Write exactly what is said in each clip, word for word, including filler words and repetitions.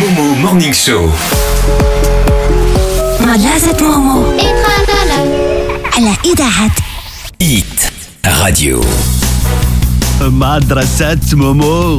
مومو مورنينغ شو مدرسة مومو على إذاعة إيت راديو. مدرسة مومو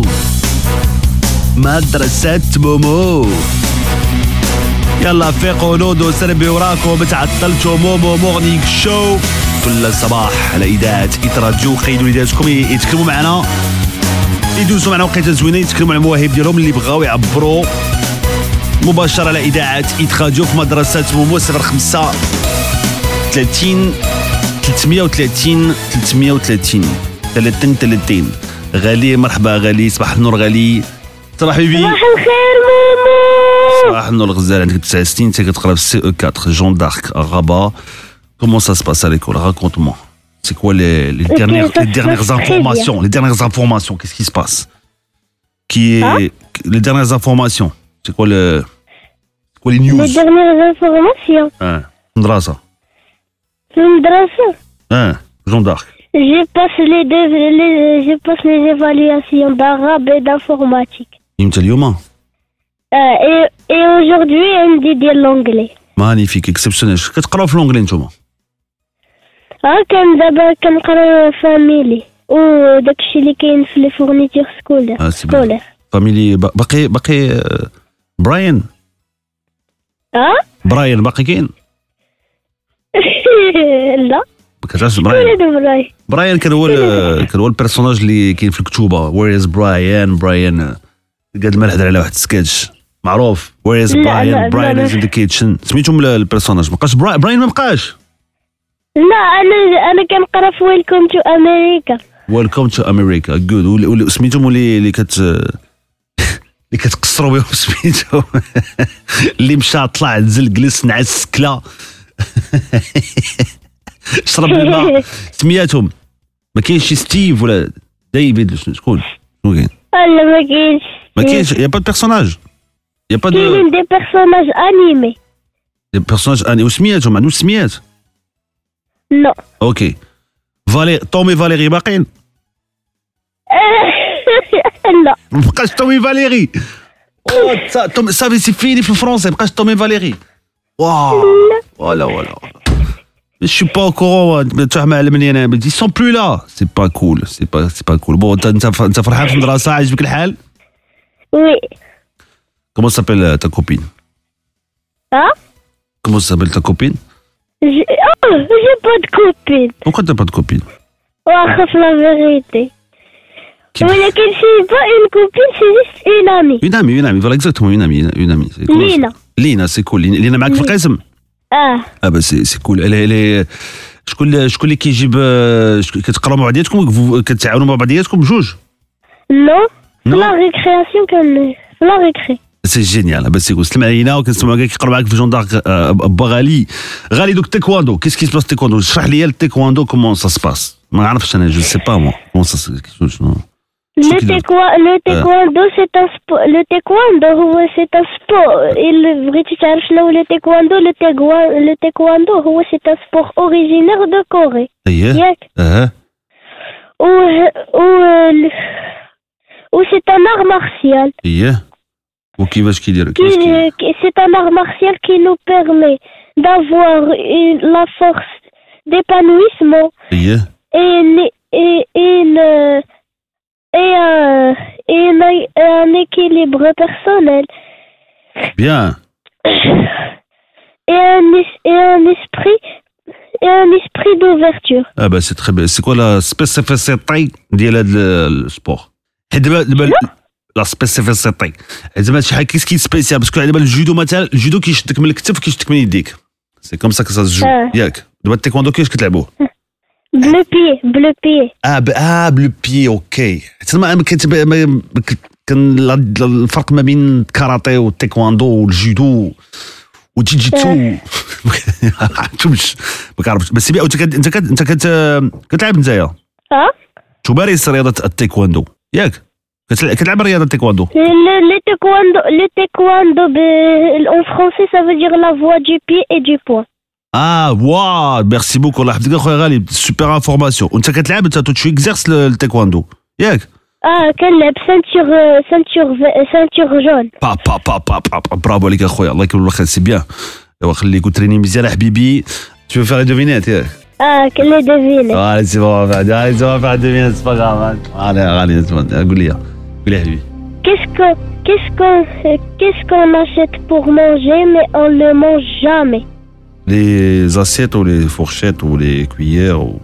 مدرسة مومو يلا فيقوا نودوا سربي وراكم بتعطلتوا مومو مورنينغ شو كل صباح على إذاعة إيت راديو. خيدوا وليداتكم يتكلموا معنا، يدوزوا معنا وقيته زوينه، يتكلموا على المواهب ديالهم اللي بغاو يعبروا مباشرة على إذاعة إيت راديو في مدرسة مومو. صفر خمسة ثلاثين ثلاثمية وثلاثين ثلاثمية وثلاثين ثلاثين ثلاثين. غالي مرحبا غالي، صباح النور غالي. صباح بيبي. صباح الخير مومو. صباح النور الغزال، عندك تسع سنين، انت كتقرا في سي او أربعة جون دارك غابا. كومون سا سباس à l'école? Raconte-moi. C'est quoi les, les okay, dernières, les dernières informations? Les dernières informations, qu'est-ce qui se passe? Qui est hein? Les dernières informations? C'est quoi le, quoi les news? Les dernières informations. Hein, Mdrasa. Mdrasa. Hein, Jean d'Arc. Je passe les deux, les, je passe les évaluations d'arabe et d'informatique. يمتى اليوم؟ Euh, et, et aujourd'hui, on dit de l'anglais. مانيفيك اكسبسيونيل. كتقراو في الانجلي نتوما؟ ها كان دابا كنقرا فاميلي وداكشي اللي كاين في لي فورنيتور سكولير. اه سي بيان. فاميلي باقي باقي براين. ها؟ براين باقي كاين؟ لا. ما كتعرفش براين؟ براين براين كان هو كان هو البيرسوناج اللي كاين في الكتوبه. وير از براين؟ براين قاد ما نهضر على واحد السكيتش معروف. وير از براين؟ براين از ان ذا كيتشن. سميتهم البيرسوناج. ما بقاش براين، ما بقاش. لا انا انا كنقرا في ويلكم تو امريكا. ويلكم تو امريكا جود. سميتهم اللي اللي كت اللي كتقصروا بهم سميتهم اللي مشى طلع نزل جلس نعس كلا شرب الماء. سمياتهم ما كاينش شي ستيف ولا ديفيد؟ شكون شكون كاين؟ لا ما كاينش ما كاينش. يا با دو بيرسوناج، يا با دو كاينين دي بيرسوناج انيمي. دي بيرسوناج اني. وسمياتهم عندهم سميات؟ لا. اوكي. فالي تومي فاليري باقيين؟ لا ما بقاش تومي فاليري. تومي صافي سي فيني في الفرنسي، ما بقاش تومي فاليري. واو ولا ولا Je suis pas au courant. Tu m'as علمني انا ils sont plus là. C'est pas cool, c'est pas c'est pas cool. Bon انت انت فرحان في المدرسه؟ عاجبك الحال؟ وي. Comment s'appelle ta copine? ها؟ Comment s'appelle ta copine? J'ai oh, j'ai pas de copine. Pourquoi t'as pas de copine? واخا في la vérité. ولكن c'est pas une copine, c'est juste une amie. Une amie, une amie, voilà exactement une amie, une amie. Lina. Lina, c'est cool. Lina معك في القسم؟ اه. اه bah c'est c'est cool. Elle elle شكون شكون اللي كيجيب كتقراو مع بعضياتكم كتعاونوا مع بعضياتكم بجوج؟ نو. في لا ريكرياسيون كان في لا ريكري. سي جينيال. بس يقول سلم علينا وكنسمعوا كاع كيقرا معاك في جون دارك. با غالي غالي دوك تيكواندو. كيس كي سباس تيكواندو؟ اشرح لي التيكواندو كومون سا سباس. ما عرفتش انا جو سي با مو كومون سا شنو. Le taekwondo, c'est un sport. Le taekwondo, c'est un sport. Il بغيتي تعرف شنو le taekwondo? Le taekwondo, le taekwondo, هو c'est un sport originaire de Corée. اييه. ياك. اه. و و و c'est un art martial. اييه. وكيفاش كيدير؟ C'est un art martial qui nous permet d'avoir une, la force d'épanouissement. اييه. Et et une et un, et un, un équilibre personnel. Bien. Et un, et un esprit et un esprit d'ouverture. Ah bah c'est très bien. C'est quoi la spécificité ديال هذا السبور؟ حيت دابا دابا لا سبيسيفيسيتي زعما شي حاجه كيس كي سبيسيال باسكو دابا الجودو مثلا الجودو كيشدك من الكتف كيشدك من يديك. سي كوم سا كو سا جو ياك. دابا التايكوندو كيفاش كتلعبوه؟ بلو بي بلو بي اه ب... اه بلو بي اوكي. تما كان الفرق ما بين الكاراتيه والتايكواندو والجودو والجيجيتسو ما عرفتش ما كنعرفش. بس انت انت انت كتلعب نتايا؟ اه تمارس رياضه التايكواندو ياك؟ كتلعب رياضه التايكواندو؟ لي تايكواندو لي تايكواندو en français ça veut dire la voie du pied et du poing. اه واو ميرسي بوكو. الله يحفظك اخويا غالي، سوبر انفورماسيون. وانت كتلعب انت تو اكزيرس التايكواندو ياك؟ اه كنلعب سانتور سانتور سانتور جون. با با با با با برافو عليك اخويا الله يكون الخير سي بيان. ايوا خليك وتريني مزيان حبيبي. Tu veux faire les devinettes ياك؟ اه كل deviner. Allez c'est bon, allez on va faire les devinettes, c'est pas grave. Allez allez قول لي قول لي حبيبي. Qu'est-ce que qu'est-ce qu'on qu'est-ce qu'on achète pour manger mais on le mange jamais? Les assiettes ou les fourchettes ou les cuillères ou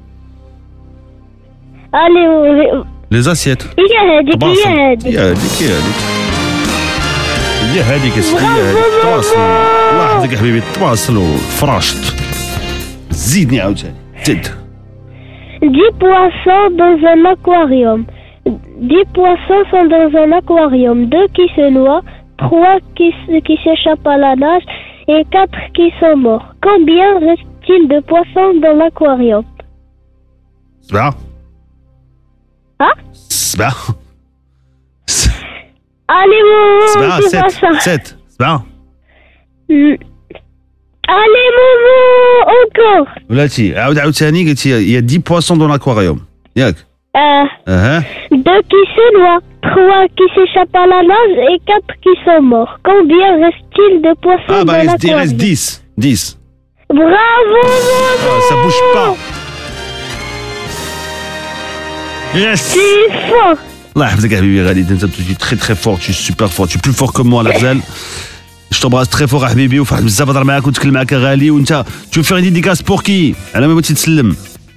Allez les assiettes. هي هذيك هي هذيك. هي هذيك هي هذيك. هي هذيك تواصل. الله يحفظك يا حبيبي تواصل وفراشت. زيدني عاوتاني زيد. dix poissons dans un aquarium. dix poissons sont dans un aquarium. deux qui se noient, trois qui, qui s'échappent à la nage et quatre qui sont morts. Combien reste-t-il de poissons dans l'aquarium? سبعة. ها؟ سبعة. Allez, Momo, سبعة c'est pas ça. ست ست سبعة. Allez, Momo, encore. ولاتي عاود عاوتاني قلتي يا دix poissons dans l'aquarium ياك؟ Euh, اها. deux qui se noient, trois qui s'échappent à la nage et quatre qui sont morts. Combien reste-t-il de poissons Ah bah dans reste l'aquarium? reste dix. dix. Bravo, Momo. Ah, ça bouge pas. Yes. Tu es fort. الله يحفظك يا حبيبي غالي انت tu es très très fort tu es super fort tu es plus fort que moi la غزال. Je t'embrasse très fort يا حبيبي وفرحت بزاف نهضر معاك ونتكلم معاك يا غالي وانت tu veux faire une dédicace pour qui على ما بغيتي تسلم.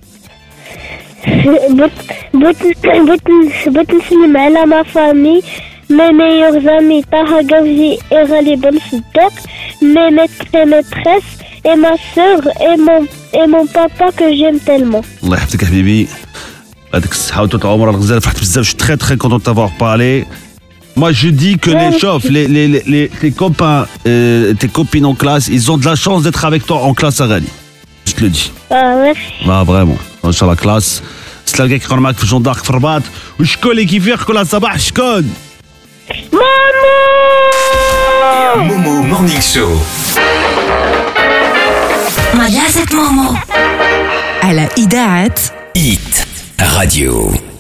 بغيت بغيت بغيت نسلم على ما فامي mes meilleurs amis Taha Gavzi et Ghali Ben Siddiq, mes maîtres et maîtresses et ma sœur et mon et mon papa que j'aime tellement. الله يحفظك يا حبيبي هذيك الصحة وطول العمر الغزال فرحت بزاف je suis très très content de t'avoir parlé. Moi je dis que les chauffes, les, les, les, les, tes copains, euh, tes copines en classe, ils ont de la chance d'être avec toi en classe à Ghali. Je te le dis. Ah merci. Ah vraiment. sur la classe. تلقى كيقرا معاك في الجون دارك في الرباط وشكون اللي كيفيق كل صباح شكون؟ مامو مومو مورنينغ شو مجازة مومو على إذاعة إيت راديو.